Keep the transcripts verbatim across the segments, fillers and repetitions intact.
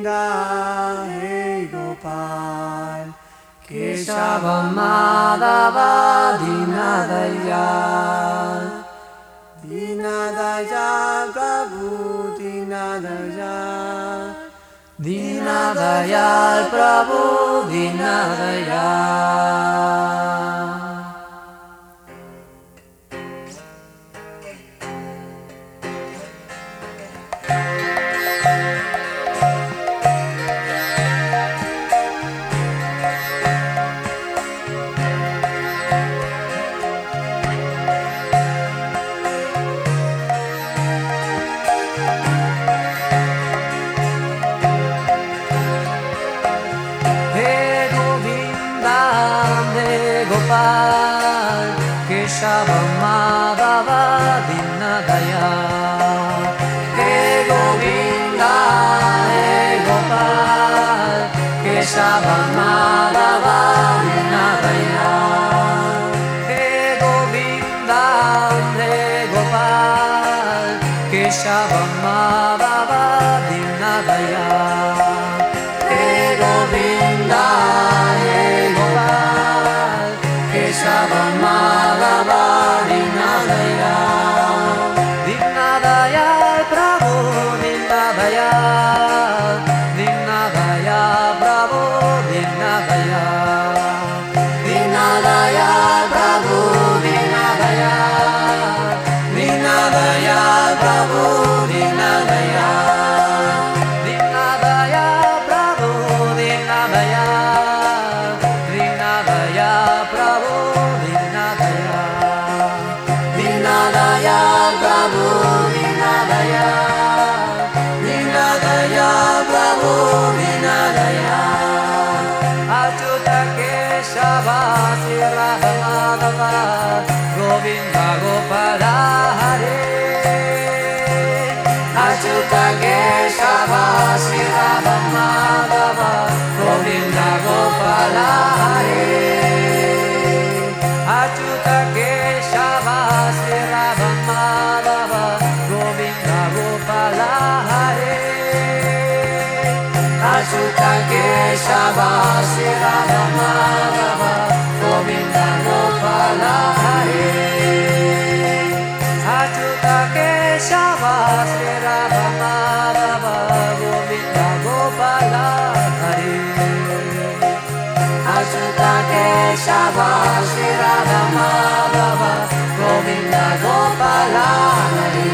Govinda, Hey Gopal, Keshava Madhava Dinadayal, Dinadayal Prabhu Dinadayal, Dinadayal Prabhu Dinadayal. Gopal, Keshava Madhava Dinadayal. Hey Govinda, Hey Gopal, Keshava Madhava Dinadayal. Hey Govinda, Hey Gopal, Keshava Madhava Dinadayal. Hey Govinda, Hey Gopal, Keshava Madhava Dinadayal, Dinadayal Prabhu Dinadayal, Dinadayal Prabhu Dinadayal, Dinadayal Prabhu Dinadayal, Dinadayal Prabhu Dinadayal, Dinadayal Prabhu Dinadayal, Dinadayal Prabhu Dinadayal, Dinadayal Prabhu Dinadayal, Dinadayal Prabhu Dinadayal. Achyuta Keshava Sri Radha Madhava Govinda Gopala Hare. Achyuta Keshava Sri Radha Madhava Govinda Gopala Hare. Achyuta Keshava Sri Radha Madhava Govinda Gopala Hare. Achyuta Keshava Sri Radha Madhava Govinda Gopala Hare. Achyuta Keshava Sri Radha Madhava Govinda Gopala Hare. Achyuta Keshava Sri Radha Madhava Govinda Gopala Hare.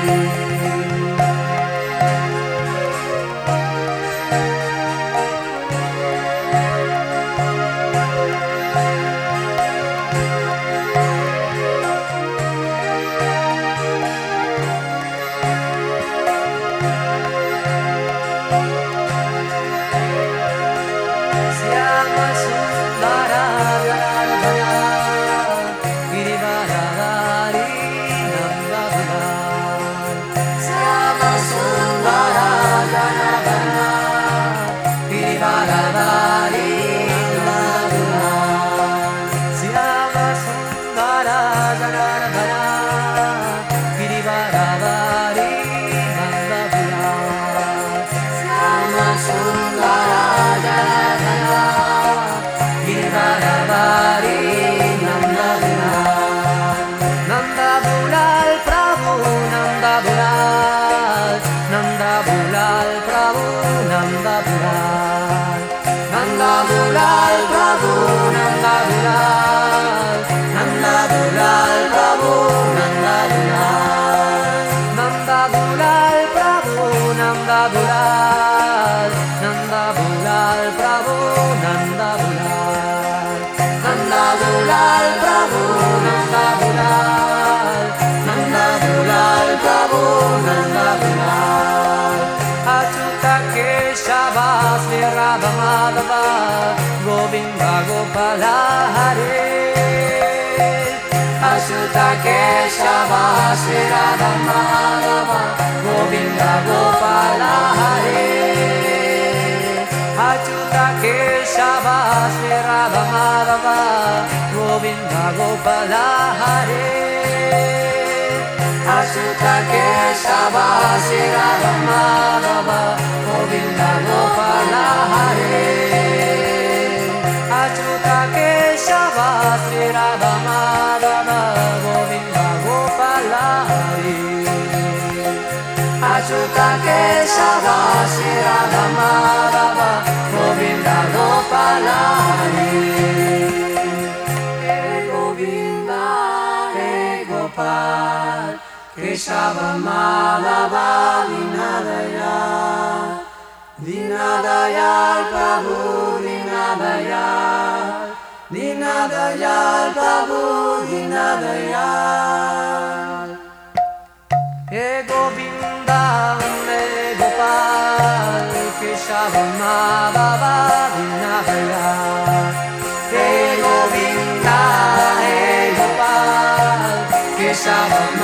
Syama Sundara Janardhana, Girivaradhari Nandabhula. Syama Sundara Janardhana, Girivaradhari Nandabhula. Syama Sundara Janardhana, Girivaradhari Nandabhula. Syama Sundara Janardhana, Girivaradhari Nandabhula. Nandabhulal Prabhu Nandabhulal, Nandabhulal Prabhu Nandabhulal, Nandabhulal Prabhu Nandabhulal, Nandabhulal Prabhu Nandabhulal, Nandabhulal Prabhu Nandabhulal, Nandabhulal Prabhu Nandabhulal, Nandabhulal Prabhu Nandabhulal, Nandabhulal Prabhu Nandabhulal. Achyuta Keshava Sri Radha Madhava Govinda Gopala Hare. Achyuta Keshava Sri Radha Madhava Govinda Gopala Hare. Achyuta Keshava Sri Radha Madhava Govinda Gopala Hare. Achyuta Keshava Sri Radha Madhava Govinda Gopala Hare. Keshava Shri Radha Madhava Govinda Gopala Hare Hey Govinda Hey Gopal Keshava Madhava Dinadayal Dinadayal Prabhu Dinadayal Dinadayal Prabhu Dinadayal Hey Govinda Hey Gopal Keshava Madhava Dinadayal Hey Govinda Hey Gopal Keshava